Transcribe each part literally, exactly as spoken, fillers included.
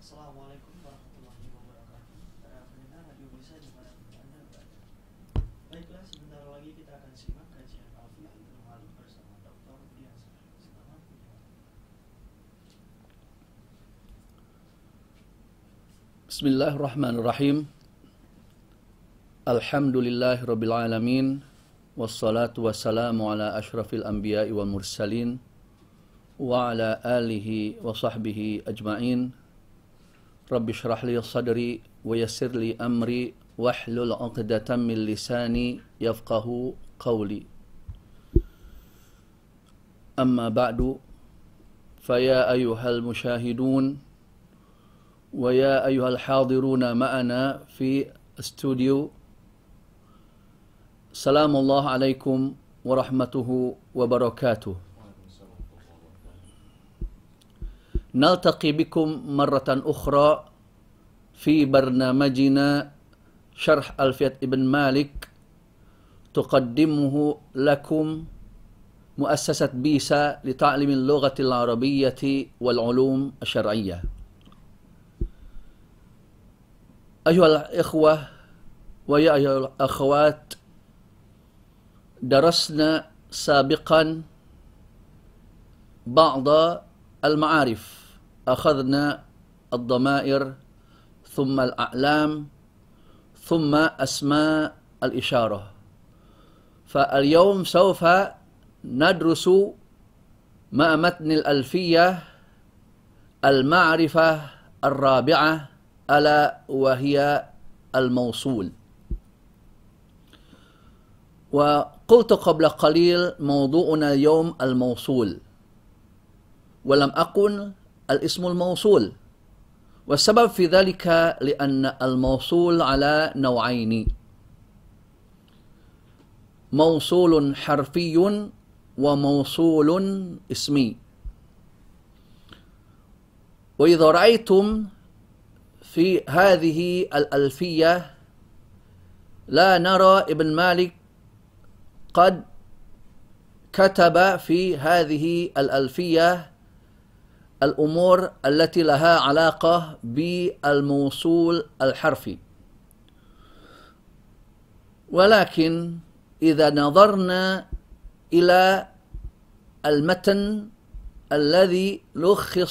Assalamualaikum warahmatullahi wabarakatuh. Para pendengar radio bisa dimanapun Anda berada. Baiklah, sebentar lagi kita akan simak kajian Alfiah Ibnu Malik bersama Doktor Dias. Selamat mendengarkan. Bismillahirrahmanirrahim. Alhamdulillahirabbil alamin. Wassalatu wassalamu ala asyrafil anbiya'i wal mursalin wa ala alihi wa sahbihi ajma'in. Rabbi shrah li sadri wa yassir li amri wahlul 'uqdatam min lisani yafqahu qawli. Amma ba'du, faya ayyuhal musyahidun wa ya ayyuhal hadiruna ma'ana fi studio. Assalamuallahu alaikum warahmatuhu wabarakatuh. نلتقي بكم مرة أخرى في برنامجنا شرح ألفية ابن مالك تقدمه لكم مؤسسة بيسا لتعليم اللغة العربية والعلوم الشرعية. أيها الإخوة ويا أيها الأخوات، درسنا سابقا بعض المعارف. أخذنا الضمائر ثم الأعلام ثم أسماء الإشارة. فاليوم سوف ندرس مع متن الألفية المعرفة الرابعة ألا وهي الموصول. وقلت قبل قليل موضوعنا اليوم الموصول، ولم أقل الاسم الموصول، والسبب في ذلك لأن الموصول على نوعين: موصول حرفي وموصول اسمي. وإذا رأيتم في هذه الألفية لا نرى ابن مالك قد كتب في هذه الألفية الأمور التي لها علاقة بالموصول الحرفي. ولكن إذا نظرنا إلى المتن الذي لخص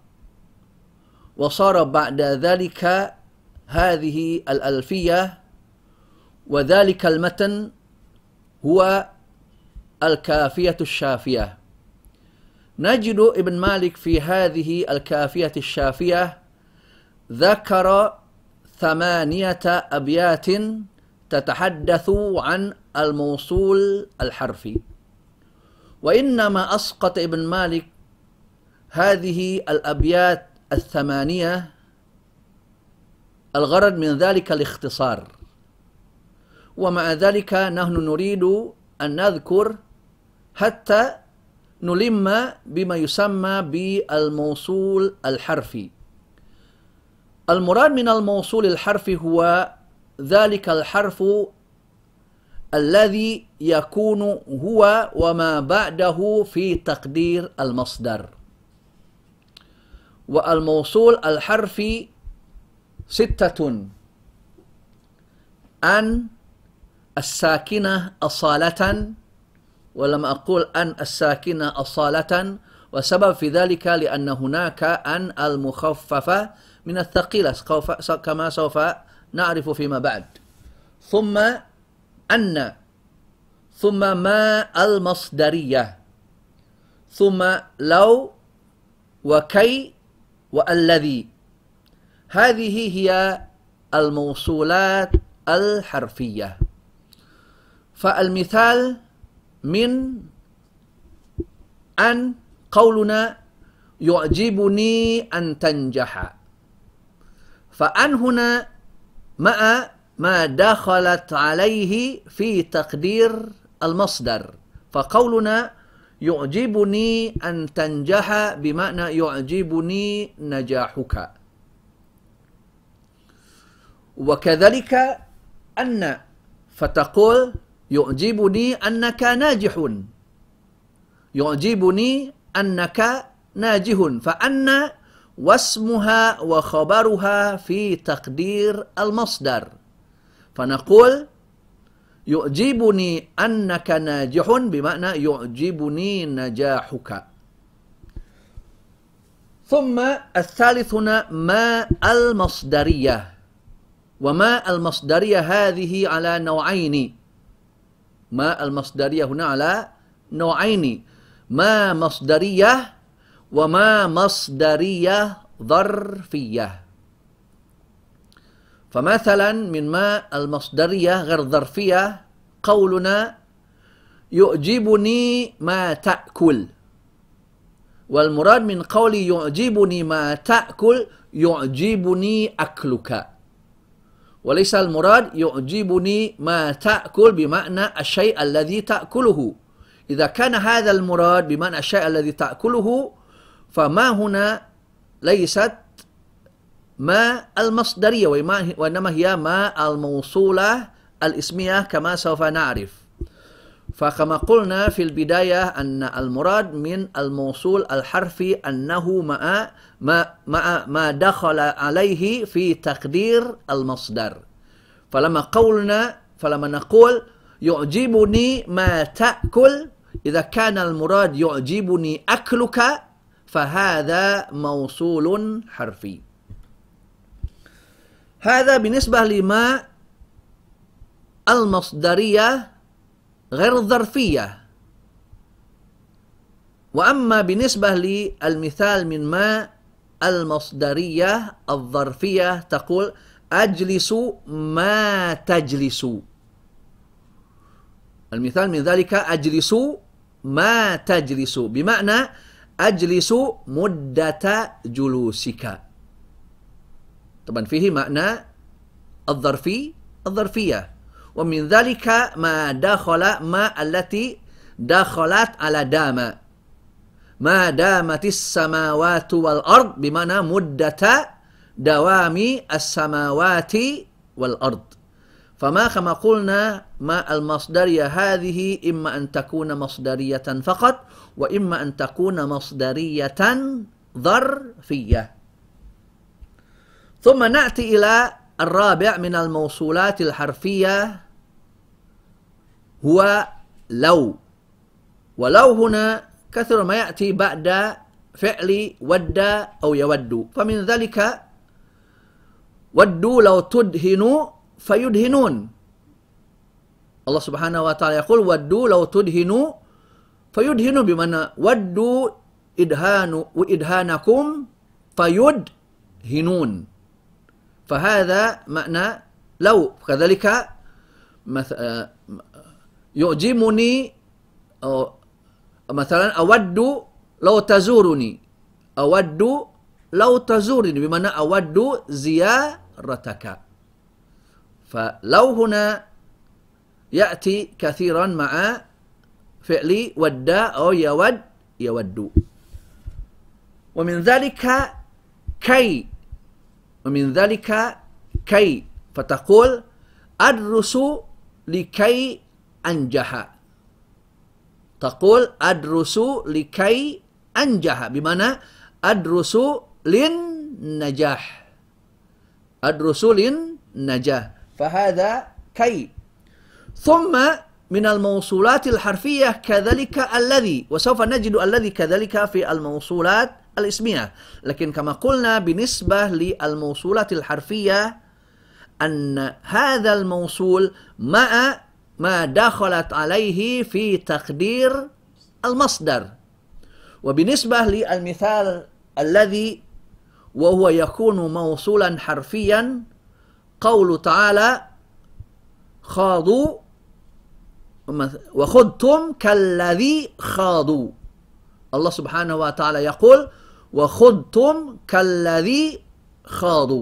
وصار بعد ذلك هذه الألفية، وذلك المتن هو الكافية الشافية، نجد ابن مالك في هذه الكافية الشافية ذكر ثمانية أبيات تتحدث عن الموصول الحرفي. وإنما أسقط ابن مالك هذه الأبيات الثمانية الغرض من ذلك الاختصار، ومع ذلك نحن نريد أن نذكر حتى نلم بما يسمى بالموصول الحرفي. المراد من الموصول الحرفي هو ذلك الحرف الذي يكون هو وما بعده في تقدير المصدر. والموصول الحرفي ستة: أن الساكنة أصالة، ولما أقول أن الساكنة أصالة، وسبب في ذلك لأن هناك أن المخففة من الثقيلة كما سوف نعرف فيما بعد. ثم أن، ثم ما المصدرية، ثم لو وكي والذي. هذه هي الموصولات الحرفية. فالمثال من أن قولنا يعجبني أن تنجح، فأن هنا مع ما دخلت عليه في تقدير المصدر، فقولنا يعجبني أن تنجح بمعنى يعجبني نجاحك. وكذلك أن، فتقول يعجبني أنك ناجح، يعجبني أنك ناجح، فأن واسمها وخبرها في تقدير المصدر. فنقول يعجبني أنك ناجح بمعنى يعجبني نجاحك. ثم الثالث هنا ما المصدرية. وما المصدرية هذه على نوعين. ما المصدرية هنا على نوعين. ما مصدرية وما مصدرية ظرفية. فمثلا من ما المصدرية غير ظرفية قولنا يعجبني ما تأكل. والمراد من قولي يعجبني ما تأكل يعجبني أكلك. وليس المراد يعجبني ما تأكل بمعنى الشيء الذي تأكله. إذا كان هذا المراد بمعنى الشيء الذي تأكله فما هنا ليست ما المصدرية وإنما هي ما الموصولة الاسمية كما سوف نعرف. فكما قلنا في البداية أن المراد من الموصول الحرفي أنه مع ما, مع ما دخل عليه في تقدير المصدر. فلما قولنا فلما نقول يعجبني ما تأكل إذا كان المراد يعجبني أكلك فهذا موصول حرفي. هذا بالنسبة لما المصدرية غير الظرفية. وأما بالنسبة للمثال من ما المصدرية الظرفية تقول أجلس ما تجلس. المثال من ذلك أجلس ما تجلس بمعنى أجلس مدة جلوسك. طبعا فيه معنى الظرفي الظرفية. ومن ذلك ما دخل ما التي دخلت على دام. ما دامت السماوات والأرض بمعنى مدة دوام السماوات والأرض. فما كما قلنا ما المصدرية هذه إما أن تكون مصدرية فقط وإما أن تكون مصدرية ظرفية. ثم نأتي إلى الرابع من الموصولات الحرفية هو لو. ولو هنا كثر ما يأتي بعد فعل ود أو يود. فمن ذلك ودوا لو تدهنوا فيدهنون. الله سبحانه وتعالى يقول ودوا لو تدهنوا فيدهنون بمعنى ودوا إدهان وإدهانكم فيدهنون. فهذا معنى لو. كذلك يعجبني مثلا أود لو تزورني. أود لو تزورني بمعنى أود زيارتك. فلو هنا يأتي كثيرا مع فعل ود أو يود يود. ومن ذلك كي. ومن ذلك كي. فتقول أدرس لكي أنجح. تقول أدرس لكي أنجح بمعنى أدرس للنجاح. أدرس للنجاح. فهذا كي. ثم من الموصولات الحرفية كذلك الذي. وسوف نجد الذي كذلك في الموصولات الاسمية. لكن كما قلنا بالنسبة للموصولات الحرفية أن هذا الموصول مع ما دخلت عليه في تقدير المصدر. وبالنسبة للمثال الذي وهو يكون موصولا حرفيا قول تعالى خاضوا وخضتم كالذي خاضوا. الله سبحانه وتعالى يقول وخضتم كالذي خاضوا.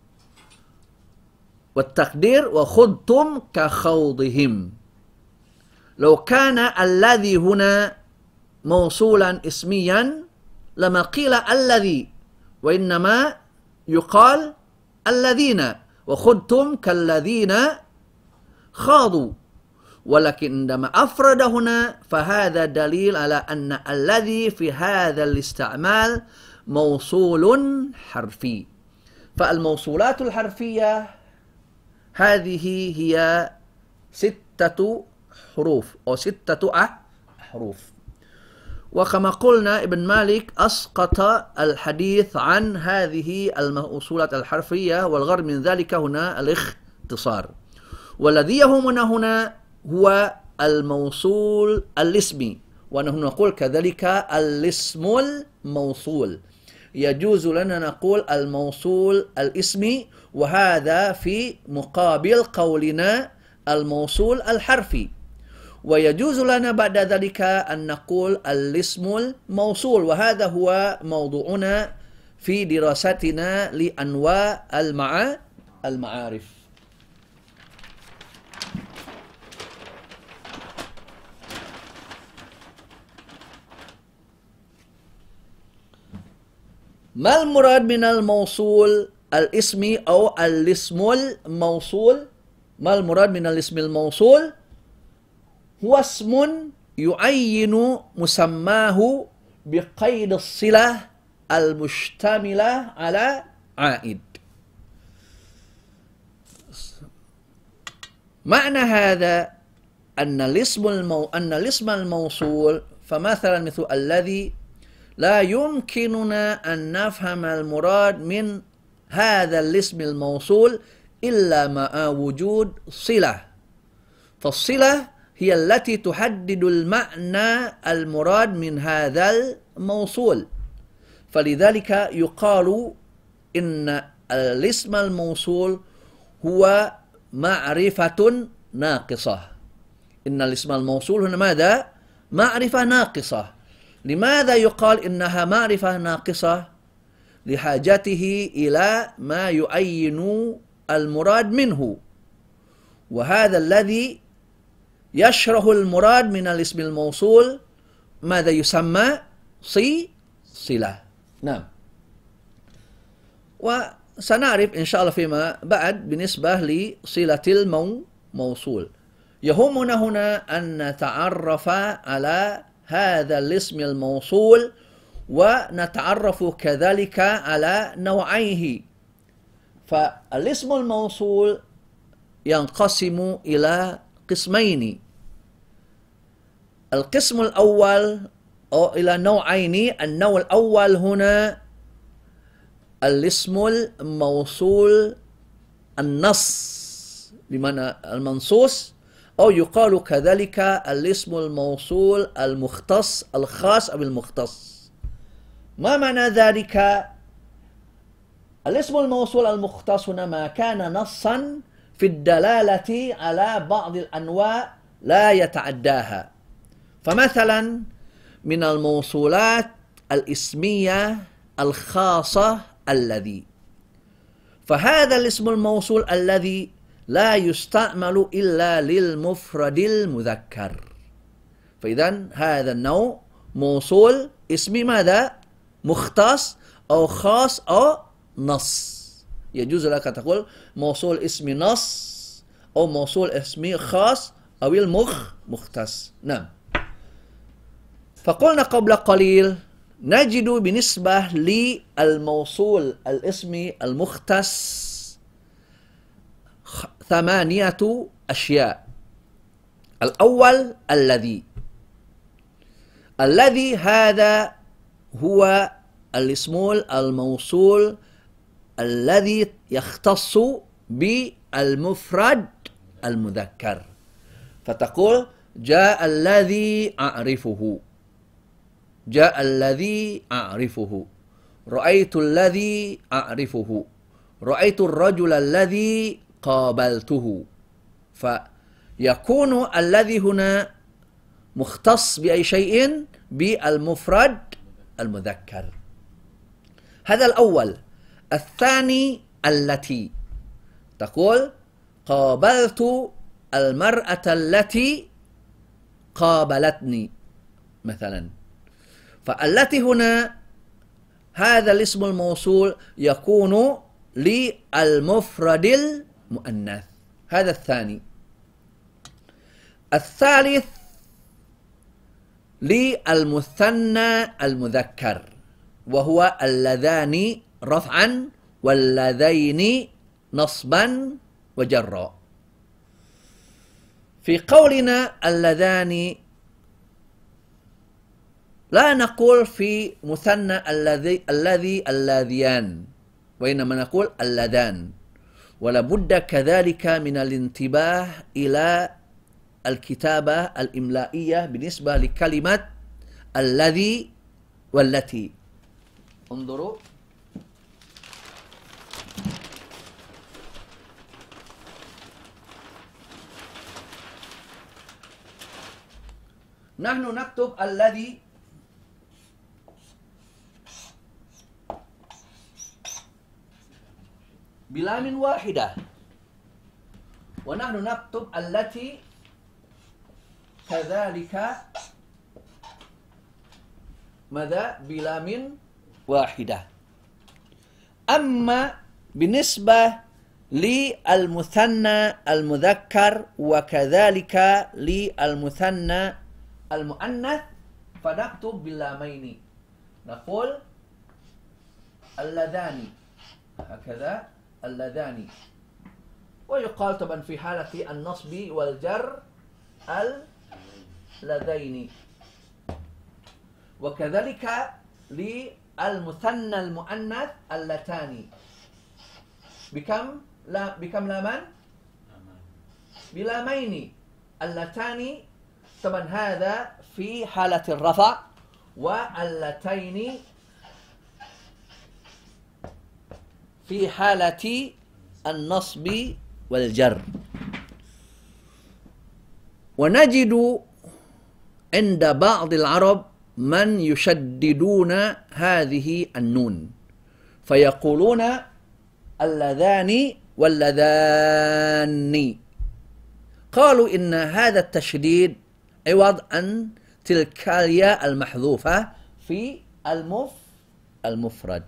والتقدير وخضتم كخوضهم. لو كان الذي هنا موصولا اسميا لما قيل الذي وإنما يقال الذين وخضتم كالذين خاضوا. ولكن عندما أفرد هنا فهذا دليل على أن الذي في هذا الاستعمال موصول حرفي. فالموصولات الحرفية هذه هي ستة حروف أو ستة أحرف. وكما قلنا ابن مالك أسقط الحديث عن هذه الموصولات الحرفية، والغرض من ذلك هنا الاختصار. والذي يهمنا هنا هو الموصول الاسمي، ونحن نقول كذلك الاسم الموصول. يجوز لنا نقول الموصول الاسمي، وهذا في مقابل قولنا الموصول الحرفي. ويجوز لنا بعد ذلك أن نقول الاسم الموصول، وهذا هو موضوعنا في دراستنا لأنواع المعا المعارف. ما المراد من الموصول الاسمي أو الاسم الموصول؟ ما المراد من الاسم الموصول؟ هو اسم يعين مسماه بقيد الصلة المشتملة على عائد. معنى هذا أن الاسم المو... أن الاسم الموصول، فمثلا مثل الذي، لا يمكننا أن نفهم المراد من هذا الاسم الموصول إلا مع وجود صلة. فالصلة هي التي تحدد المعنى المراد من هذا الموصول. فلذلك يقال إن الاسم الموصول هو معرفة ناقصة. إن الاسم الموصول هنا ماذا؟ معرفة ناقصة. لماذا يقال إنها معرفة ناقصة؟ لحاجته إلى ما يعين المراد منه، وهذا الذي يشرح المراد من الاسم الموصول ماذا يسمى؟ صي صلة. نعم. وسنعرف إن شاء الله فيما بعد بالنسبة لصلة الموصول. يهمنا هنا أن نتعرف على هذا الاسم الموصول، ونتعرف كذلك على نوعيه. فالاسم الموصول ينقسم إلى قسمين. القسم الأول أو إلى نوعين. النوع الأول هنا الاسم الموصول النص، بمعنى المنصوص، أو يقال كذلك الاسم الموصول المختص، الخاص أو المختص. ما معنى ذلك؟ الاسم الموصول المختص هنا ما كان نصا في الدلالة على بعض الأنواع لا يتعداها. فمثلا من الموصولات الاسمية الخاصة الذي، فهذا الاسم الموصول الذي لا يستعمل إلا للمفرد المذكر. فإذا هذا النوع موصول اسمي ماذا؟ مختص أو خاص أو نص. يجوز لك تقول موصول اسمي نص أو موصول اسمي خاص أو المخ مختص. نعم. فقلنا قبل قليل نجد بالنسبة للموصول الاسمي المختص ثمانية أشياء. الأول الذي. الذي هذا هو الاسم الموصول الذي يختص بالمفرد المذكر. فتقول جاء الذي أعرفه، جاء الذي أعرفه، رأيت الذي أعرفه، رأيت الرجل الذي قابلته. فيكون الذي هنا مختص بأي شيء؟ بالمفرد المذكر. هذا الأول. الثاني التي. تقول قابلت المرأة التي قابلتني مثلا. فالتي هنا هذا الاسم الموصول يكون للمفرد المؤنث. هذا الثاني. الثالث للمثنى المذكر وهو اللذان رفعا واللذين نصبا وجرا. في قولنا اللذان لا نقول في مثنى الذي الذي اللذيان، وإنما نقول اللذان، ولا بد كذلك من الانتباه إلى الكتابة الإملائية بالنسبة لكلمة الذي والتي. انظروا نحن نكتب الذي بلام واحدة، ونحن نكتب التي كذلك ماذا بلام واحدة. أما بالنسبة للمثنى المذكر وكذلك للمثنى المؤنث فنكتب باللامين، نقول اللذان هكذا اللذان، ويقال طبعا في حالة النصب والجر اللذين، وكذلك للمثنى المؤنث اللتان. بكم لا بكم لامان؟ بلامين اللتان. طبعا هذا في حالة الرفع، واللتين في حالة النصب والجر. ونجد عند بعض العرب من يشددون هذه النون فيقولون اللذان واللذان، قالوا إن هذا التشديد عوض عن تلك الياء المحذوفة في المف المفرد.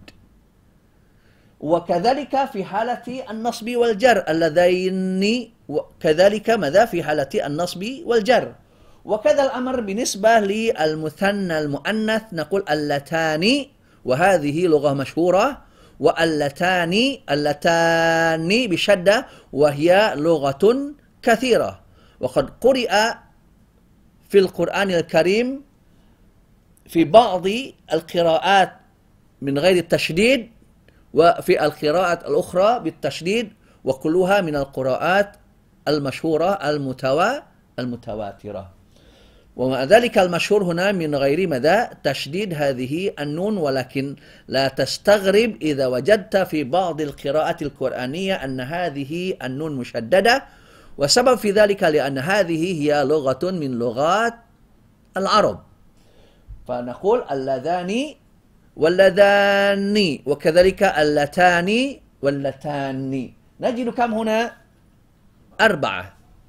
وكذلك في حالة النصب والجر اللذين، وكذلك ماذا في حالة النصب والجر. وكذا الأمر بالنسبة للمثنى المؤنث نقول اللتان، وهذه لغة مشهورة، واللتان اللتان بشدة، وهي لغة كثيرة، وقد قرئ في القرآن الكريم في بعض القراءات من غير التشديد، وفي القراءات الأخرى بالتشديد، وكلها من القراءات المشهورة المتوا المتواترة. ومع ذلك المشهور هنا من غير ماذا تشديد هذه النون، ولكن لا تستغرب إذا وجدت في بعض القراءات القرآنية أن هذه النون مشددة، وسبب في ذلك لأن هذه هي لغة من لغات العرب. فنقول اللذان واللذان، وكذلك اللتان واللتان. نجد كم هنا؟ أربعة.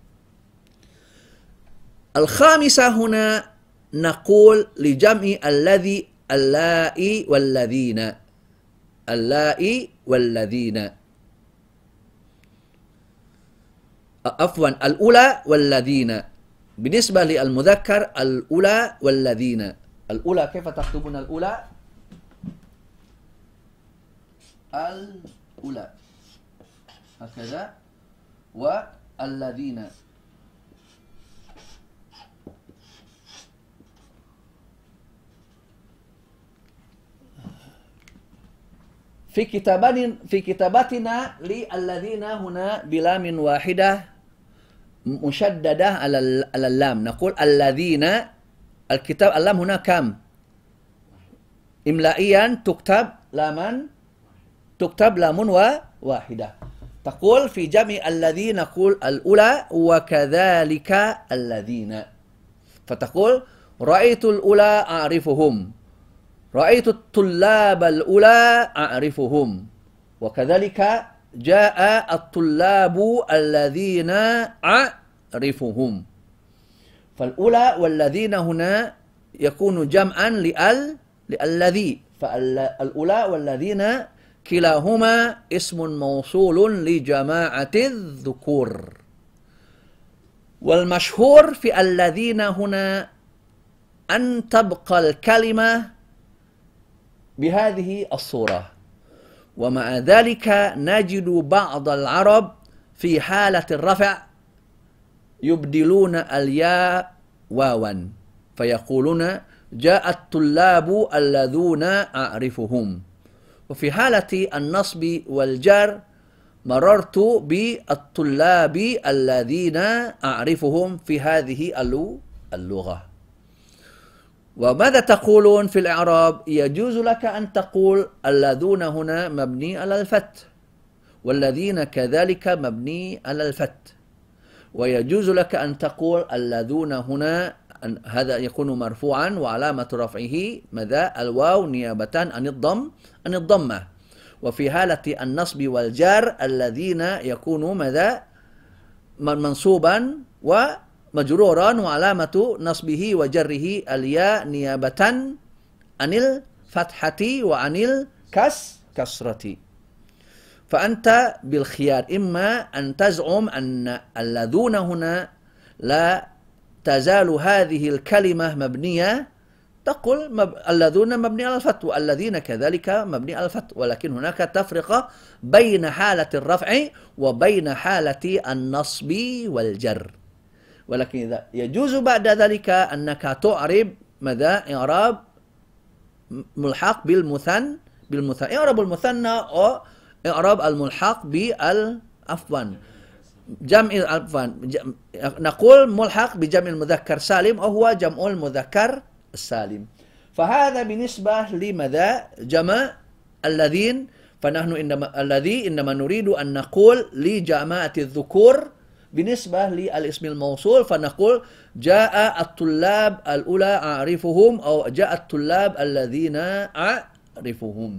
الخامسة هنا نقول لجمع الذي اللائي والذين، اللائي والذين، عفوا الأولى والذين. بالنسبة للمذكر الأولى والذين. الأولى كيف تكتبون الأولى؟ الأولى هكذا، والذين. في كتابنا في كتاباتنا للذين هنا بلام واحدة مشددة على على اللام، نقول الذين. الكتاب اللام هنا كم؟ إملائيا تكتب لاما، تكتب لام واحدة. تقول في جمع الذين نقول الأولى وكذلك الذين. فتقول رأيت الأولى أعرفهم، رأيت الطلاب الأولى أعرفهم، وكذلك جاء الطلاب الذين أعرفهم. فالأولى والذين هنا يكون جمعا لأل للذي، فالأولى والذين كلاهما اسم موصول لجماعة الذكور. والمشهور في الذين هنا أن تبقى الكلمة بهذه الصورة. ومع ذلك نجد بعض العرب في حالة الرفع يبدلون الياء واوا فيقولون جاء الطلاب الذين أعرفهم. وفي حالة النصب والجر مررت بالطلاب الذين أعرفهم في هذه اللغة. وماذا تقولون في الإعراب؟ يجوز لك أن تقول الذين هنا مبني على الفتح والذين كذلك مبني على الفتح، ويجوز لك أن تقول الذين هنا هذا يكون مرفوعا وعلامة رفعه ماذا؟ الواو نيابة عن الضم عن الضمة. وفي حالة النصب والجر الذين يكون ماذا؟ منصوبا ومجرورا وعلامة نصبه وجره الياء نيابة عن الفتحة وعن الكسرة. فأنت بالخيار، إما أن تزعم أن الذين هنا لا تزال هذه الكلمة مبنية، تقول مب... الذين مبني على الفتح والذين كذلك مبني على الفتح، ولكن هناك تفرقة بين حالة الرفع وبين حالة النصب والجر. ولكن إذا يجوز بعد ذلك أنك تعرب ماذا؟ إعراب ملحق بالمثنى بالمثنى إعراب المثنى أو إعراب الملحق بال عفوا جمع عفوا نقول ملحق بجمع المذكر سالم أو هو جمع المذكر السالم. فهذا بالنسبة لماذا؟ جمع الذين. فنحن إنما الذي إنما نريد أن نقول لجماعة الذكور بالنسبة للاسم الموصول، فنقول جاء الطلاب الأولى أعرفهم أو جاء الطلاب الذين أعرفهم.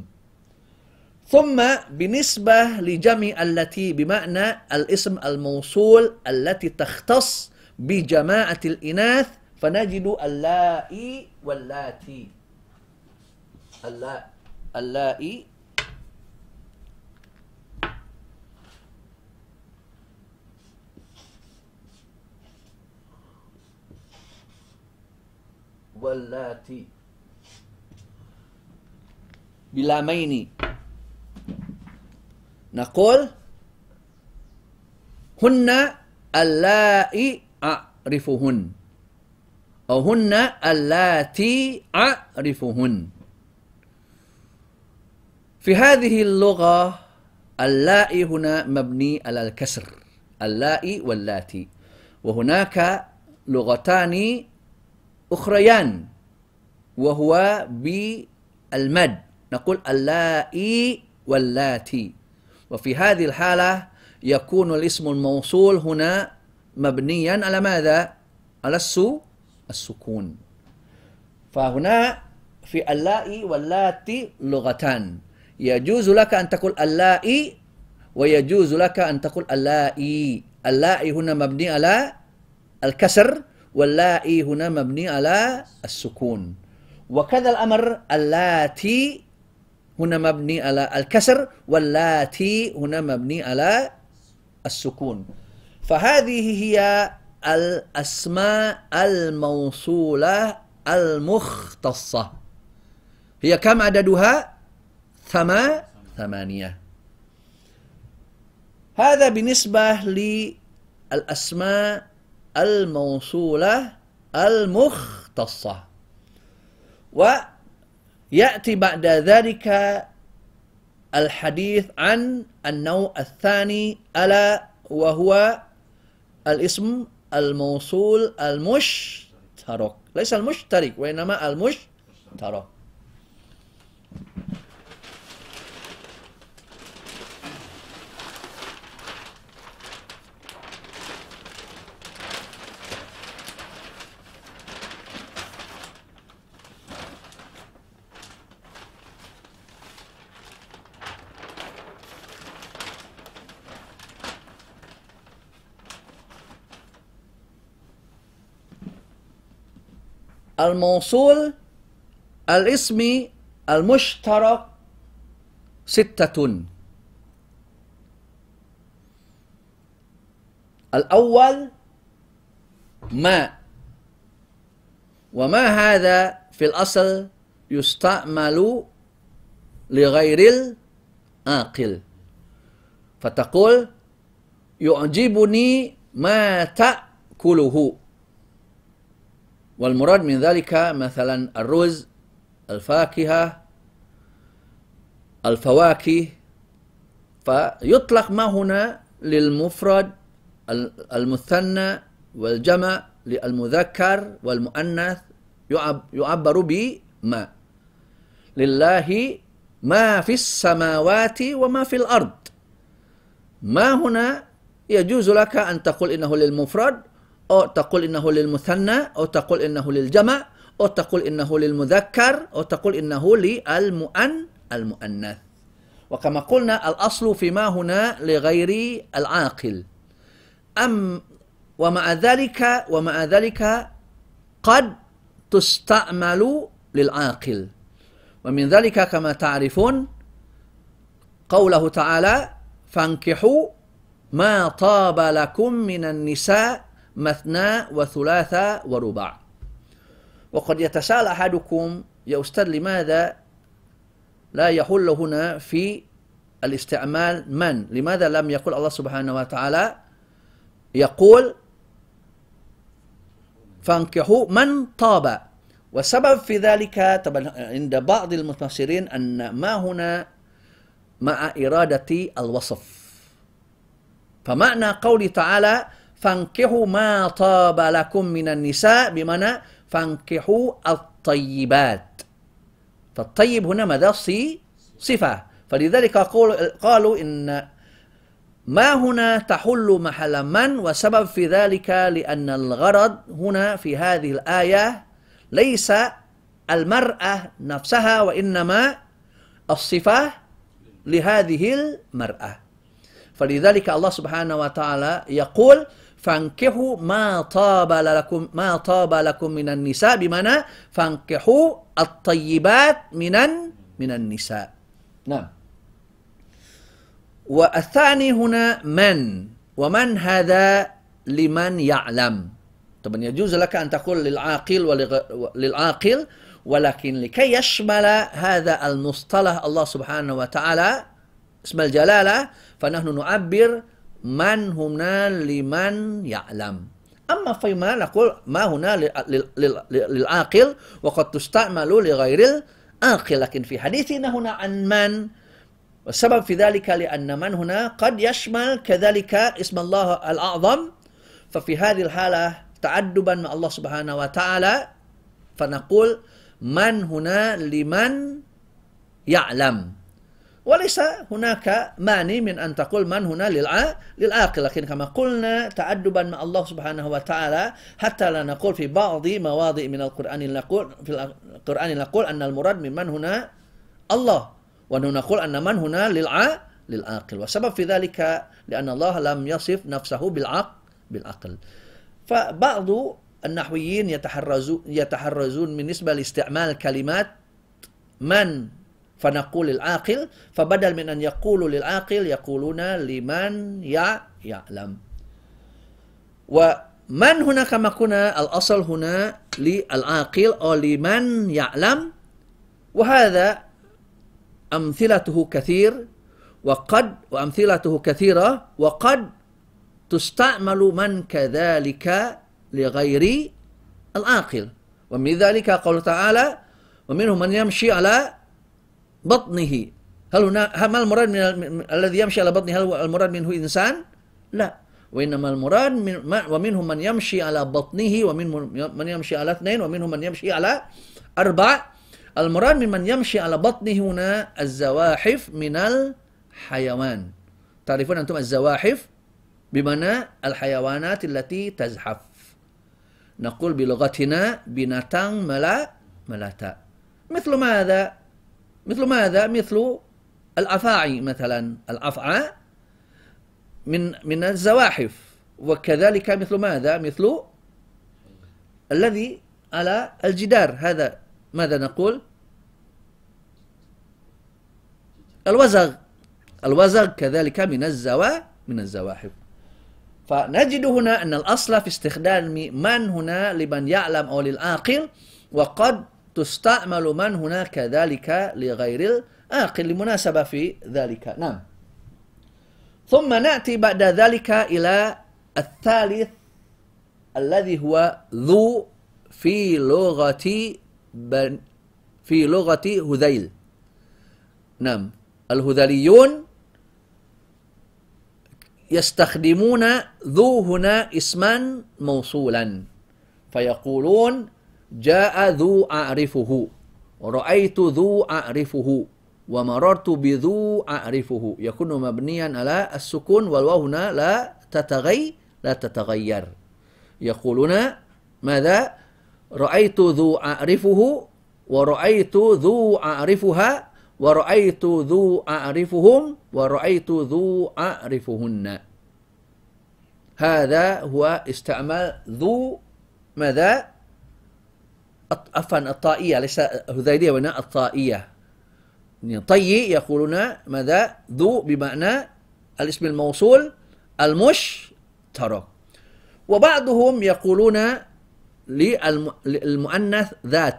ثم بالنسبة لجمع التي بمعنى الاسم الموصول التي تختص بجماعة الإناث، فنجد اللائي واللاتي. اللائي واللاتي بلامين. نقول هن اللائي أعرفهن أو هن اللاتي أعرفهن. في هذه اللغة اللائي هنا مبني على الكسر، اللائي واللاتي. وهناك لغتان أخريان وهو بالمد، نقول اللائي واللاتي. وفي هذه الحالة يكون الاسم الموصول هنا مبنيا على ماذا؟ على السو السكون. فهنا في اللائي واللاتي لغتان، يجوز لك أن تقول اللائي ويجوز لك أن تقول اللائي. اللائي هنا مبني على الكسر واللائي هنا مبني على السكون. وكذا الأمر اللاتي هنا مبني على الكسر واللاتي هنا مبني على السكون. فهذه هي الأسماء الموصولة المختصة. هي كم عددها؟ ثما ثمانية. هذا بالنسبة للأسماء الموصولة المختصة. ويأتي بعد ذلك الحديث عن النوع الثاني ألا وهو الاسم الموصول المشترك، ليس المشترك وإنما المشترك. الموصول الاسمي المشترك ستة. الأول ما. وما هذا في الأصل يستعمل لغير العاقل، فتقول يعجبني ما تأكله، والمراد من ذلك مثلا الرز، الفاكهة، الفواكه، فيطلق ما هنا للمفرد المثنى والجمع، للمذكر والمؤنث يعبر بما. لله ما في السماوات وما في الأرض. ما هنا يجوز لك أن تقول إنه للمفرد، أو تقول إنه للمثنى، أو تقول إنه للجمع، أو تقول إنه للمذكر، أو تقول إنه للمؤن المؤنث. وكما قلنا الأصل فيما هنا لغير العاقل. أم ومع ذلك ومع ذلك قد تستعمل للعاقل، ومن ذلك كما تعرفون قوله تعالى فانكحوا ما طاب لكم من النساء مثنى وثلاث ورباع. وقد يتساءل أحدكم يا أستاذ لماذا لا يحل هنا في الاستعمال من؟ لماذا لم يقل الله سبحانه وتعالى يقول فانكحوا من طاب؟ والسبب في ذلك طبعا عند بعض المفسرين أن ما هنا مع إرادة الوصف، فمعنى قوله تعالى فانكحوا ما طاب لكم من النساء بمعنى فانكحوا الطيبات، فالطيب هنا ماذا؟ صفة، فلذلك قالوا إن ما هنا تحل محل من، وسبب في ذلك لأن الغرض هنا في هذه الآية ليس المرأة نفسها، وإنما الصفة لهذه المرأة. فلذلك الله سبحانه وتعالى يقول فانكحوا ما طاب لكم ما طاب لكم من النساء بمعنى فانكحوا الطيبات من من النساء. نعم. والثاني هنا من، ومن هذا لمن يعلم. طبعا يجوز لك أن تقول للعاقل وللعاقل، ولكن لكي يشمل هذا المصطلح الله سبحانه وتعالى اسم الجلالة فنحن نعبر من هنا لمن يعلم. أما فيما نقول ما هنا للعاقل وقد تستعمل لغير العاقل، لكن في حديثنا هنا عن من، والسبب في ذلك لأن من هنا قد يشمل كذلك اسم الله الأعظم، ففي هذه الحالة تعدبا مع الله سبحانه وتعالى فنقول من هنا لمن يعلم، وليس هناك مانع من أن تقول من هنا للعاقل، لكن كما قلنا تعدبا مع الله سبحانه وتعالى حتى لا نقول في بعض مواضع من القرآن نقول في القرآن نقول أن المراد من من هنا الله، ونقول أن من هنا للعاقل، والسبب في ذلك لأن الله لم يصف نفسه بالعقل بالعقل. فبعض النحويين يتحرزون يتحرزون بالنسبة لاستعمال كلمات من فنقول للعاقل، فبدل من أن يقولوا للعاقل يقولون لمن يعلم. ومن هنا كما قلنا الأصل هنا للعاقل أو لمن يعلم، وهذا أمثلته كثير وقد وأمثلته كثيرة وقد تستعمل من كذلك لغير العاقل. ومن ذلك قال تعالى ومنهم من يمشي على بطنه. هل هنا هل المراد من الذي يمشي على بطنه هل المراد منه إنسان؟ لا، وإنما المراد من ومنهم من يمشي على بطنه ومنهم من يمشي على اثنين ومنهم من يمشي على أربع. المراد من من يمشي على بطنه هنا الزواحف من الحيوان. تعرفون أنتم الزواحف بمعنى الحيوانات التي تزحف، نقول بلغتنا binatang melata. مثل ماذا؟ مثل ماذا؟ مثل الأفاعي مثلا، الأفعى من من الزواحف، وكذلك مثل ماذا؟ مثل الذي على الجدار، هذا ماذا نقول؟ الوزغ. الوزغ كذلك من الزوا من الزواحف. فنجد هنا أن الأصل في استخدام من هنا لمن يعلم أو للعاقل، وقد تستعمل من هنا كذلك لغير العاقل لمناسبة في ذلك. نعم. ثم نأتي بعد ذلك إلى الثالث الذي هو ذو في لغة بن في لغة هذيل. نعم، الهذليون يستخدمون ذو هنا اسما موصولا، فيقولون جاء ذو أعرفه، ورأيت ذو أعرفه، ومررت بذو أعرفه، يكون مبنيا على السكون، والواو هنا لا تتغي لا تتغير. يقولون ماذا؟ رأيت ذو أعرفه، ورأيت ذو أعرفها، ورأيت ذو أعرفهم، ورأيت ذو أعرفهن. هذا هو استعمال ذو ماذا؟ عفوا الطائية، ليس هذيلية وإنما الطائية. طي يقولون ماذا؟ ذو بمعنى الاسم الموصول المشترك. وبعضهم يقولون للمؤنث ذات.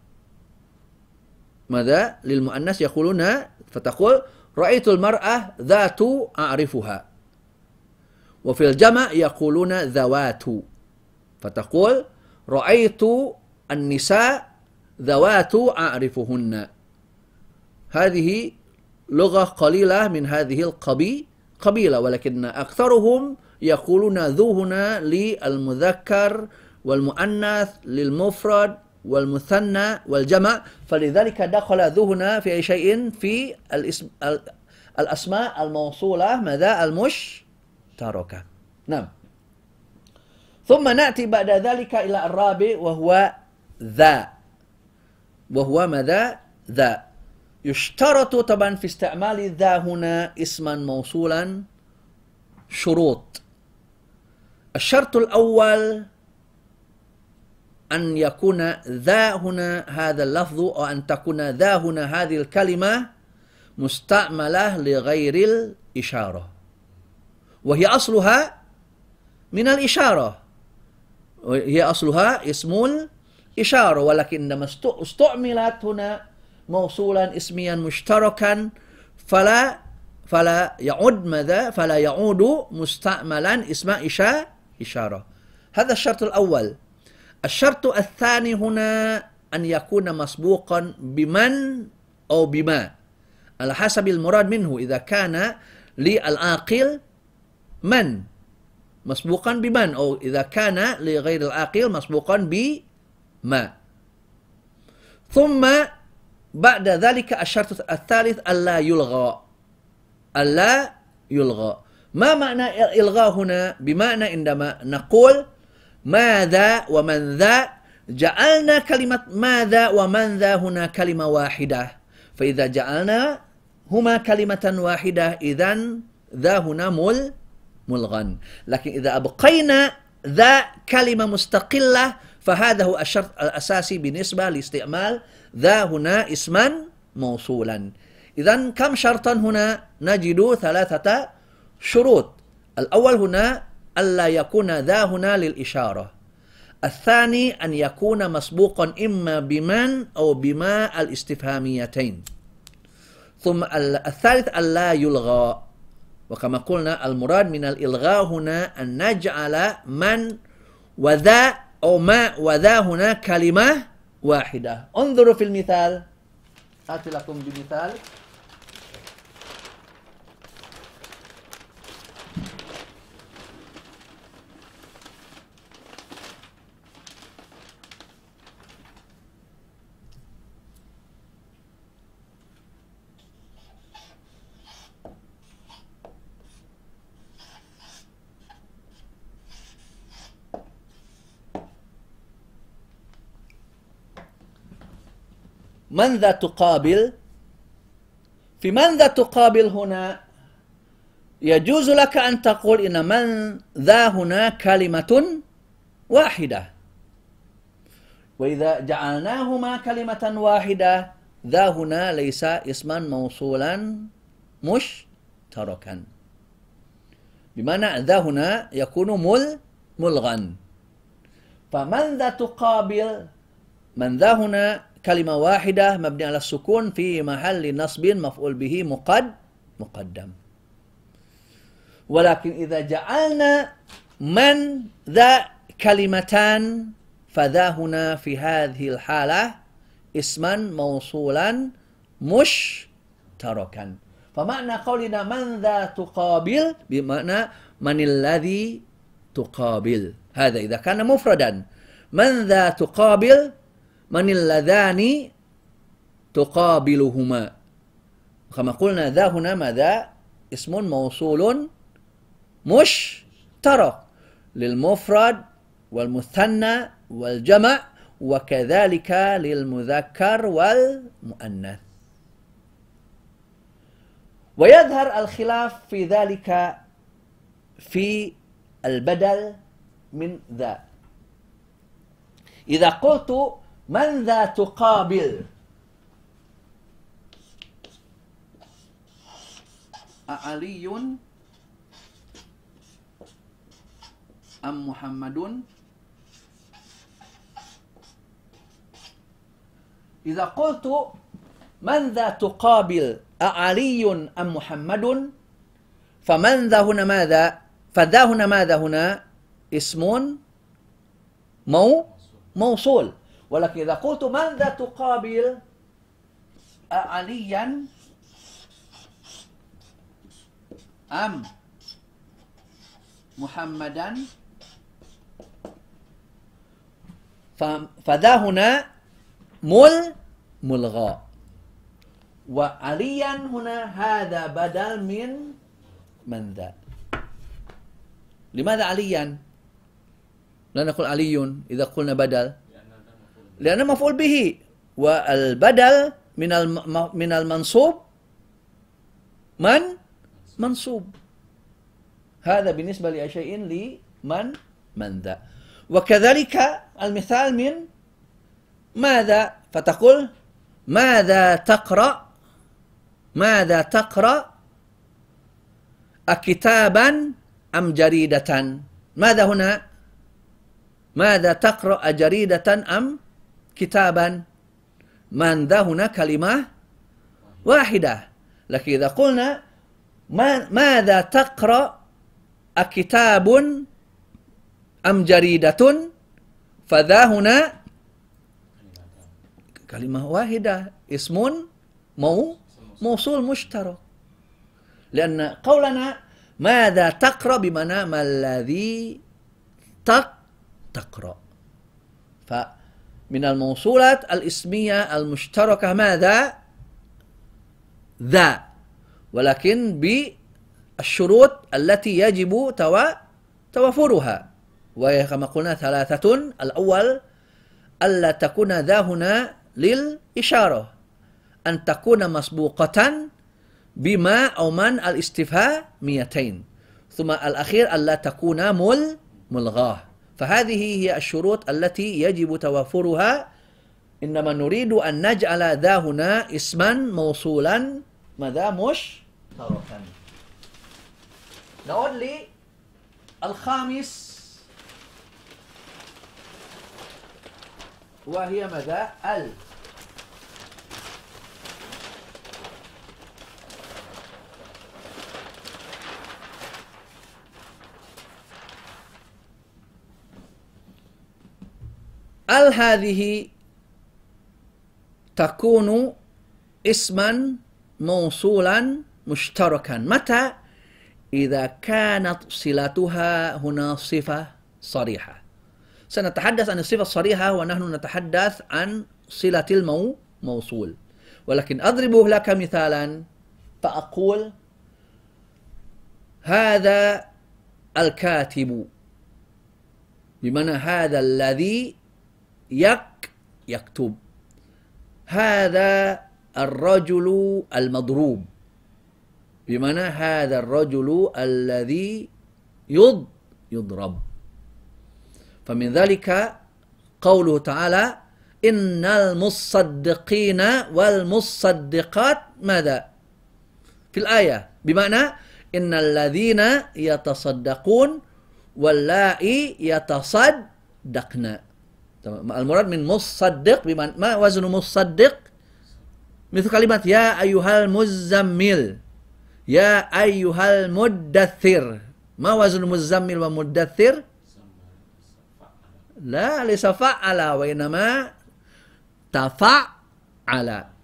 ماذا؟ للمؤنث يقولون، فتقول رأيت المرأة ذات أعرفها. وفي الجمع يقولون ذوات، فتقول رأيت النساء ذوات أعرفهن. هذه لغة قليلة من هذه القبيلة، ولكن أكثرهم يقولون ذو هنا للمذكر والمؤنث، للمفرد والمثنى والجمع، فلذلك دخل ذو هنا في أي شيء في الاسم الأسماء الموصولة ماذا؟ المشتركة. نعم. ثم نأتي بعد ذلك إلى الرابع وهو ذا، وهو ماذا؟ ذا. يشترط طبعا في استعمال ذا هنا اسما موصولا شروط. الشرط الأول أن يكون ذا هنا هذا اللفظ، أو أن تكون ذا هنا هذه الكلمة مستعملة لغير الإشارة، وهي أصلها من الإشارة، هي أصلها اسم الإشارة، ولكن عندما استعملت هنا موصولا اسميا مشتركا فلا فلا يعود ماذا؟ فلا يعود مستعملا اسم إشارة. هذا الشرط الأول. الشرط الثاني هنا أن يكون مسبوقا بمن أو بما على حسب المراد منه. إذا كان للعاقل من مسبوقا بمن، أو إذا كان لغير العاقل مسبوقا بما. ثم بعد ذلك الشرط الثالث ألا يلغى. ألا يلغى. ما معنى إلغاء هنا؟ بمعنى عندما نقول ماذا ومن ذا، جعلنا كلمة ماذا ومن ذا هنا كلمة واحدة، فإذا جعلنا هما كلمة واحدة إذن ذا هنا مل ملغا. لكن إذا أبقينا ذا كلمة مستقلة فهذا هو الشرط الأساسي بالنسبة لاستعمال ذا هنا اسما موصولا. إذن كم شرطا هنا؟ نجد ثلاثة شروط. الأول هنا ألا يكون ذا هنا للإشارة. الثاني أن يكون مسبوقا إما بمن أو بما الاستفهاميتين. ثم الثالث ألا يلغى. وكما قلنا المراد من الإلغاء هنا أن نجعل من وذا أو ما وذا هنا كلمة واحدة. انظروا في المثال، آتي لكم بمثال. من ذا تقابل. في من ذا تقابل هنا يجوز لك أن تقول إن من ذا هنا كلمة واحدة، وإذا جعلناهما كلمة واحدة ذا هنا ليس اسما موصولا مشتركا. بمعنى ذا هنا يكون مل ملغا. فمن ذا تقابل، من ذا هنا كلمة واحدة مبني على السكون في محل نصب مفعول به مقد مقدم. ولكن إذا جعلنا من ذا كلمتان فذا هنا في هذه الحالة اسما موصولا مشتركا. فمعنى قولنا من ذا تقابل بمعنى من الذي تقابل، هذا إذا كان مفردا. من ذا تقابل من اللذان تقابلهما. كما قلنا ذا هنا ماذا؟ اسم موصول مشترك للمفرد والمثنى والجمع وكذلك للمذكر والمؤنث. ويظهر الخلاف في ذلك في البدل من ذا. إذا قلت من ذا تقابل أعلي أم محمد، إذا قلت من ذا تقابل أعلي أم محمد فمن ذا هنا ماذا؟ فذا هنا ماذا هنا؟ اسم مو موصول. ولكن إذا قلت من ذا تقابل أعليا أم محمدا فذا هنا مل ملغى، وعليا هنا هذا بدل من من ذا. لماذا عليا؟ لا نقول علي إذا قلنا بدل، لأنه مفعول به، والبدل من من المنصوب من منصوب. هذا بالنسبة لشيء لمن من ذا. وكذلك المثال من ماذا، فتقول ماذا تقرأ، ماذا تقرأ أكتابا أم جريدة. ماذا هنا؟ ماذا تقرأ جريدة أم كتابا. من ذا هنا كلمة واحدة. لكن إذا قلنا ما ماذا تقرأ أكتاب أم جريدة فذا هنا كلمة واحدة اسم مو موصول مشترك. لأن قولنا ماذا تقرأ بمعنى ما الذي تق تقرأ. فمن الموصولات الاسمية المشتركة ماذا؟ ذا، ولكن بالشروط التي يجب توافرها، وهي كما قلنا ثلاثة. الأول ألا تكون ذا هنا للإشارة، أن تكون مسبوقة بما أو من الاستفهاميتين، ثم الأخير ألا تكون مل ملغاه. فهذه هي الشروط التي يجب توافرها. إنما نريد أن نجعل ذا هنا اسما موصولا ماذا مشتركا. نعود للخامس وهي ماذا؟ ال. ال هذه تكون اسما موصولا مشتركا. متى؟ إذا كانت صلتها هنا صفة صريحة. سنتحدث عن الصفة الصريحة ونحن نتحدث عن صلة الموصول. ولكن أضرب لك مثالا فأقول هذا الكاتب، بمعنى هذا الذي يك يكتب. هذا الرجل المضروب، بمعنى هذا الرجل الذي يض يضرب. فمن ذلك قوله تعالى إن المصدقين والمصدقات ماذا في الآية، بمعنى innal ladzina yatasaddaqun wallahi yatasaddaqna. Al-murad min musaddiq biman ma waznu musaddiq mithlu kalimat ya ayyuhal muzammil, ya ayyuhal muddathir. Ma waznu muzammil wa muddathir? La laysa fa'ala wa inma tafa'ala.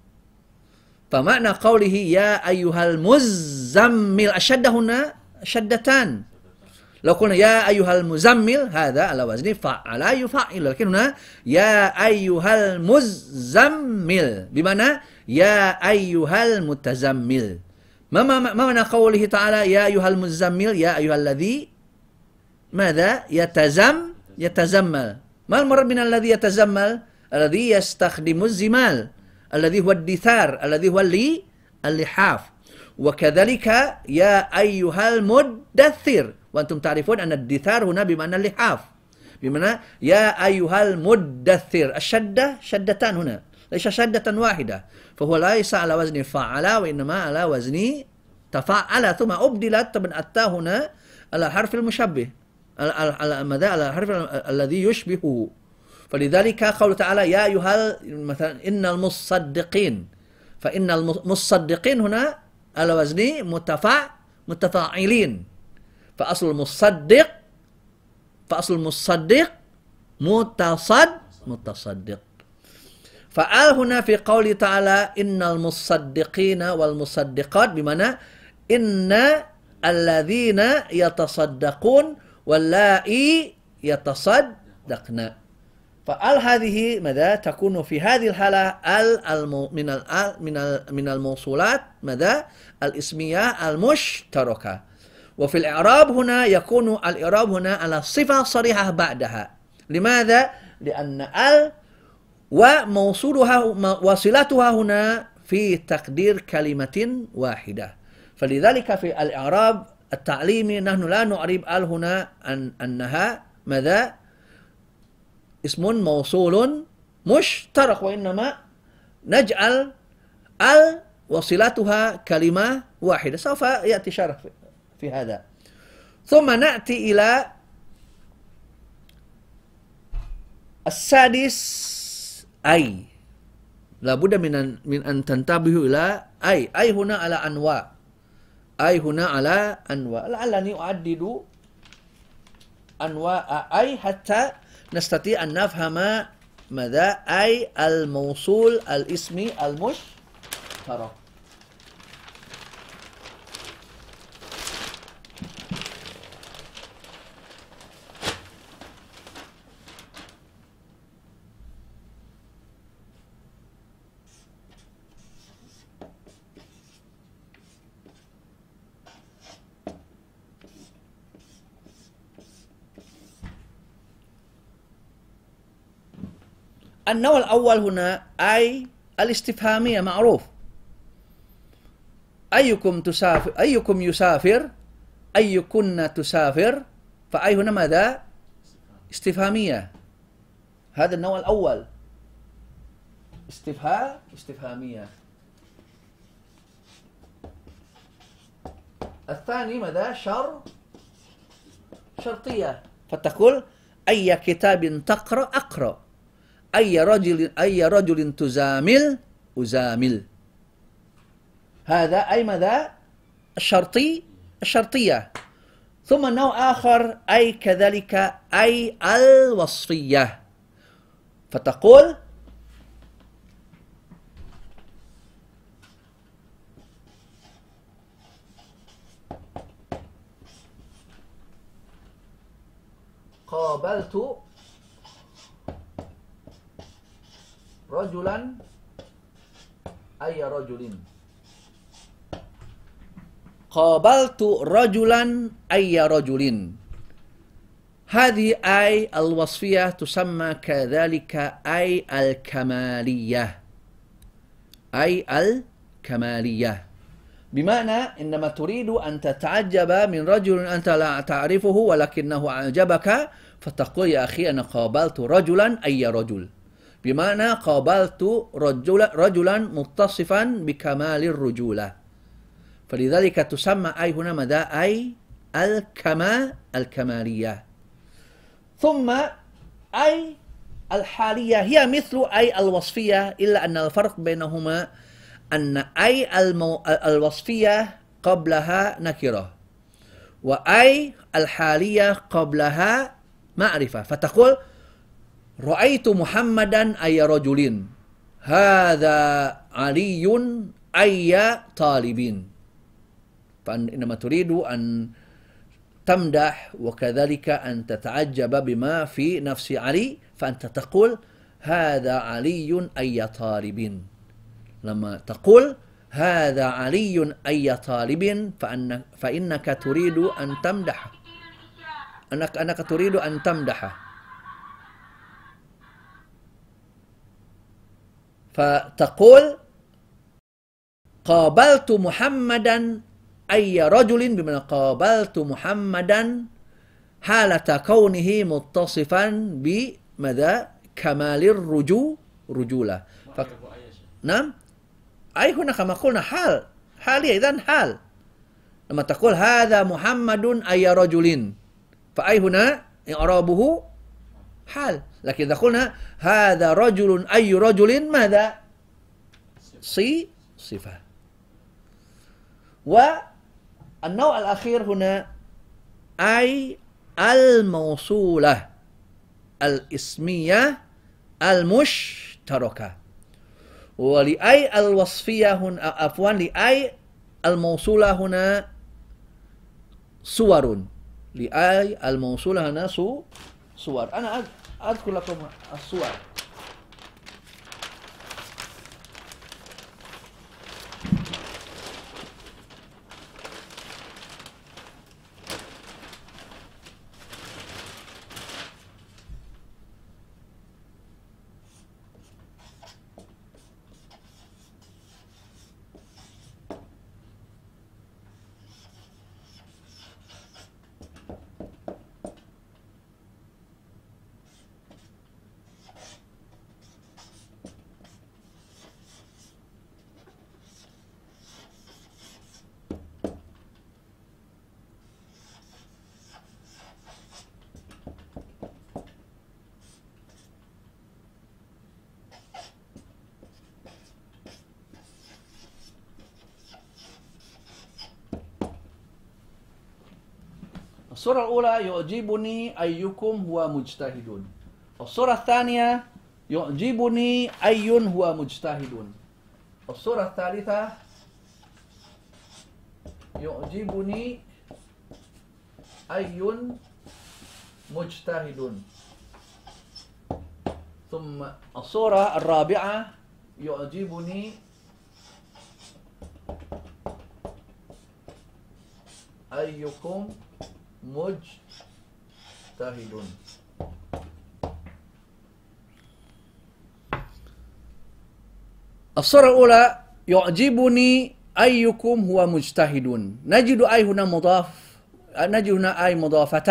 فمعنى قوله يا أيها المزمل الشدة هنا شدتان. لو قلنا يا أيها المزمل هذا على وزن فعل يفعل، لكن هنا يا أيها المزمل بمعنى يا أيها المتزمل. ما ما معنى قوله تعالى يا أيها المزمل يا أيها الذي ماذا يتزم يتزمل. ما المراد من الذي يتزمل؟ الذي يستخدم الزمال الذي هو الدثار الذي هو اللي اللحاف. وكذلك يا أيها المدثر، وأنتم تعرفون أن الدثار هنا بمعنى اللحاف، بمعنى يا أيها المدثر. الشدة شدتان هنا، ليس شدة واحدة، فهو ليس على وزن فعل وإنما على وزن تفعل، ثم أبدلت من التاء هنا على حرف المشبه، على ماذا؟ على الحرف الذي يشبهه. فلذلك قول تعالى يا أيها مثلا إن المصدقين، فإن المصدقين هنا على وزن متفع متفاعلين، فأصل المصدق فأصل المصدق متصد متصدق. فآل هنا في قوله تعالى إن المصدقين والمصدقات بمعنى إن الذين يتصدقون واللائي يتصدقن. فال هذه ماذا تكون في هذه الحالة ال من ال من ال من الموصولات ماذا الاسمية المشتركة. وفي الإعراب هنا يكون الإعراب هنا على صفة صريحة بعدها. لماذا؟ لأن ال وموصولها وصلتها هنا في تقدير كلمة واحدة. فلذلك في الإعراب التعليمي نحن لا نعرب ال هنا أن أنها ماذا اسم موصول مشترك، وإنما نجعل ال وصلتها كلمة واحدة. سوف يأتي شرح في هذا. ثم نأتي إلى السادس أي. لابد من أن من أن تنتبهوا إلى أي. أي هنا على أنواع. أي هنا على أنواع. لعلني أعدد أنواع أي حتى نستطيع أن نفهم ماذا أي الموصول الاسمي المشترك. النوع الأول هنا أي الاستفهامية معروف. أيكم تسافر أيكم يسافر أيكن تسافر، فأي هنا ماذا؟ استفهامية. هذا النوع الأول استفهام استفهامية. الثاني ماذا؟ شر شرطية، فتقول أي كتاب تقرأ أقرأ، أي رجل أي رجل تزامل أزامل. هذا أي ماذا؟ الشرطي الشرطية. ثم نوع آخر أي كذلك أي الوصفية، فتقول قابلت رجلا أي رجل، قابلت رجلا أي رجل. هذه أي الوصفية تسمى كذلك أي الكمالية، أي الكمالية، بمعنى إنما تريد أن تتعجب من رجل أنت لا تعرفه ولكنه أعجبك، فتقول يا أخي أنا قابلت رجلا أي رجل، بمعنى قابلت رجلا رجلا متصفا بكمال الرجولة. فلذلك تسمى أي هنا ماذا؟ أي الكما الكمالية. ثم أي الحالية هي مثل أي الوصفية، إلا أن الفرق بينهما أن أي المو... الوصفية قبلها نكرة، وأي الحالية قبلها معرفة. فتقول رأيت محمدا أي رجل، هذا علي أي طالب. فإنما تريد أن تمدح وكذلك أن تتعجب بما في نفس علي، فأنت تقول هذا علي أي طالب. لما تقول هذا علي أي طالب فأن فإنك تريد أن تمدح، أنك أنك تريد أن تمدحه. فتقول قابلت محمدا أي رجل، بمعنى قابلت محمدا حالة كونه متصفا بماذا؟ كمال الرجو رجولة. ف... نعم، أي هنا كما قلنا حال حالية، إذن حال. لما تقول هذا محمد أي رجل، فأي هنا إعرابه حال. لكن إذا قلنا هذا رجل أي رجل، ماذا؟ صي صفة. والنوع الأخير هنا أي الموصولة الاسمية المشتركة. ولأي الوصفية هنا، عفوا لأي الموصولة هنا صور، لأي الموصولة هنا صور. أنا أذكر لكم الصور. الصورة الأولى يعجبني أيكم هو مجتهد. الصورة الثانية يعجبني أي هو مجتهد. الصورة الثالثة يعجبني أي مجتهد. ثم الصورة الرابعة يعجبني أيكم مجتهد. الصورة الأولى يعجبني أيكم هو مجتهد. نجد أي هنا مضاف، نجد هنا أي مضافة،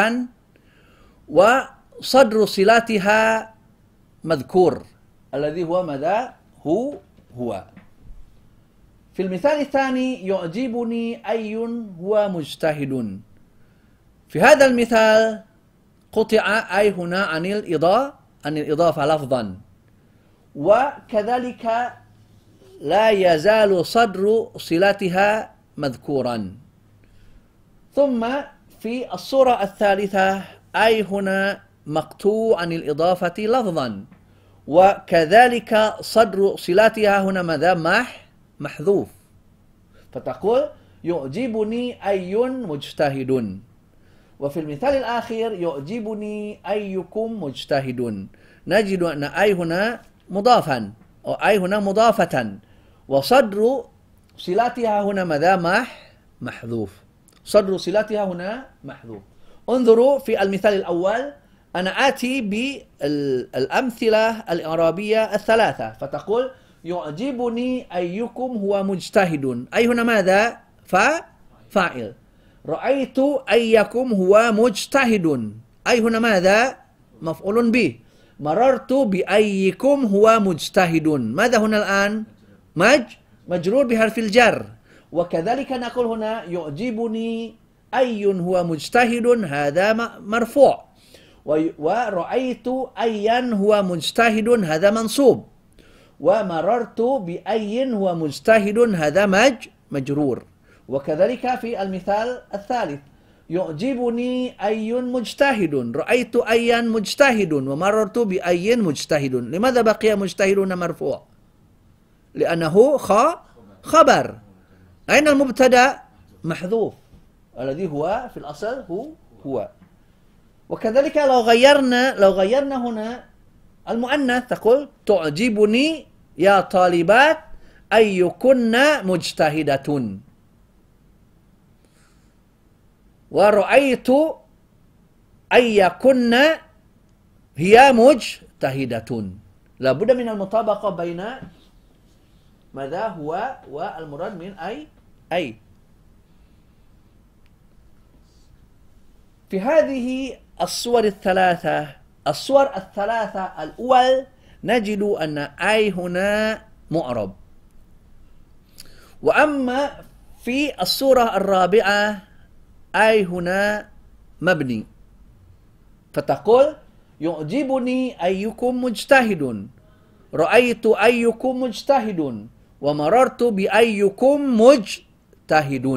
وصدر صلاتها مذكور الذي هو ماذا؟ هو هو. في المثال الثاني يعجبني أي هو مجتهد. في هذا المثال قطع أي هنا عن الإضافة عن الإضافة لفظا، وكذلك لا يزال صدر صلاتها مذكورا. ثم في الصورة الثالثة أي هنا مقطوع عن الإضافة لفظا، وكذلك صدر صلاتها هنا ماذا؟ مح محذوف. فتقول يعجبني أي مجتهد. وفي المثال الآخر يعجبني أيكم مجتهد. نجد أن أي هنا مضافا، أو أي هنا مضافة، وصدر صلاتها هنا ماذا؟ مح محذوف. صدر صلاتها هنا محذوف. انظروا في المثال الأول، أنا آتي بالأمثلة الإعرابية الثلاثة. فتقول يعجبني أيكم هو مجتهد. أي هنا ماذا؟ فاعل. رأيت أيكم هو مجتهد. أي هنا ماذا؟ مفعول به. مررت بأيكم هو مجتهد. ماذا هنا الآن؟ مج مجرور بحرف الجر. وكذلك نقول هنا يعجبني أي هو مجتهد هذا مرفوع ورأيت أيا هو مجتهد هذا منصوب ومررت بأي هو مجتهد هذا مج مجرور. وكذلك في المثال الثالث يعجبني أي مجتهد رأيت أيا مجتهد ومررت بأي مجتهد. لماذا بقي مجتهدون مرفوع؟ لأنه خ خبر. أين المبتدأ؟ محذوف الذي هو في الأصل هو هو. وكذلك لو غيرنا لو غيرنا هنا المؤنث تقول تعجبني يا طالبات أيكن مجتهدة ورأيت أيكن هي مجتهدة. لا بد من المطابقة بين ماذا هو والمراد من أي أي. في هذه الصور الثلاثة الصور الثلاثة الأول نجد أن أي هنا معرب. وأما في الصورة الرابعة أي هنا مبني. فتقول يعجبني أيكم مجتهد رأيت أيكم مجتهد ومررت بأيكم مجتهد.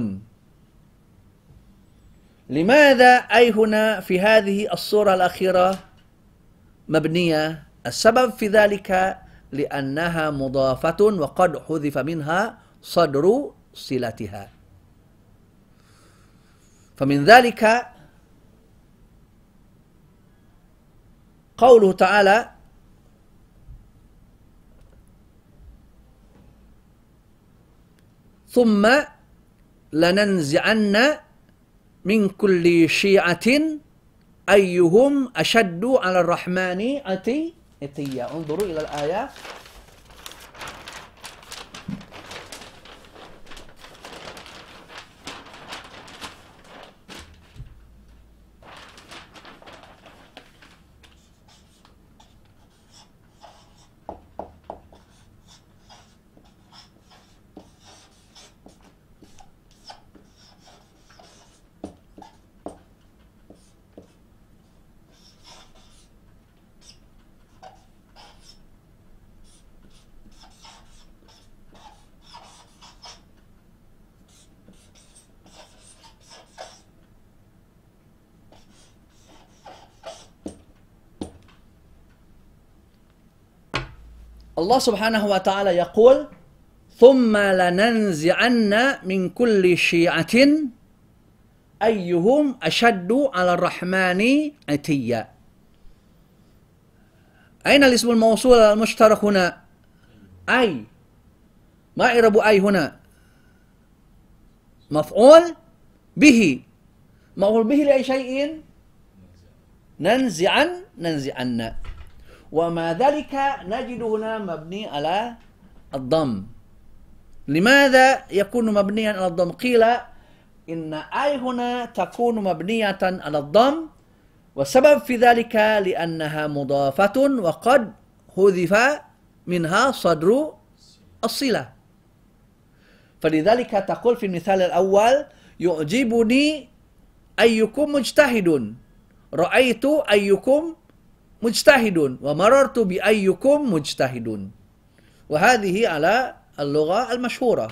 لماذا أي هنا في هذه الصورة الأخيرة مبنية؟ السبب في ذلك لأنها مضافة وقد حذف منها صدر صلتها. فمن ذلك قوله تعالى ثم لننزعن من كل شيعة أيهم أشد على الرحمن عتيا. انظروا إلى الآية. Allah subhanahu wa ta'ala yaqul thumma lananzi'anna min kulli syi'atin ayyuhum ashaddu 'ala ar-rahmani 'atiyya. Aina al-ismul mawsul al-mushtarak huna? Ay. Ma i'rabu ay huna? Maf'ul bihi. Maf'ul bihi li ay syai'in? Nanzi'an nanzi'anna. وما ذلك نجد هنا مبني على الضم. لماذا يكون مبنيا على الضم؟ قيل إن أي هنا تكون مبنية على الضم والسبب في ذلك لأنها مضافة وقد حذف منها صدر الصلة. فلذلك تقول في المثال الأول يعجبني أيكم مجتهد رأيت أيكم مجتهد ومررت بأيكم مجتهد. وهذه على اللغة المشهورة.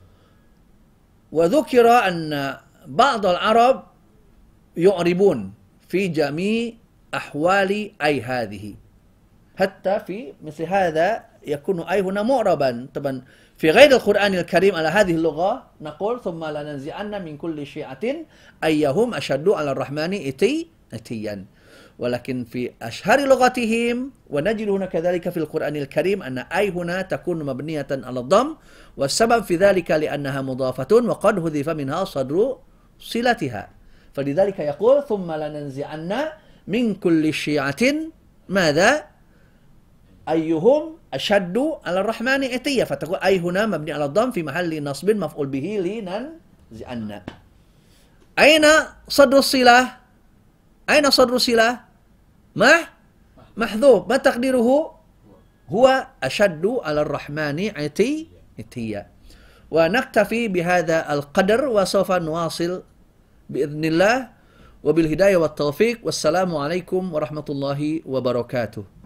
وذكر أن بعض العرب يعربون في جميع أحوال أي هذه حتى في مثل هذا يكون أي هنا معربا. طبعا في غير القرآن الكريم على هذه اللغة نقول ثم لننزعن من كل شيعة أيهم أشد على الرحمن إتي إتيا. ولكن في أشهر لغتهم ونجد هنا كذلك في القرآن الكريم أن أي هنا تكون مبنية على الضم والسبب في ذلك لأنها مضافة وقد حذف منها صدر صلتها. فلذلك يقول ثم لننزعن من كل شيعة ماذا؟ أيهم أشد على الرحمن عتيا. فتقول أي هنا مبني على الضم في محل نصب مفعول به لننزعن. أين صدر الصلة؟ أين صدر الصلة؟ ما محذوف. ما تقديره؟ هو أشد على الرحمن عتي عتيا. Wa naktafi bihadza al-qadar wa sawfa nuwasil biidznillah wa bil hidayah wat taufiq. Wassalamu alaikum warahmatullahi wabarakatuh.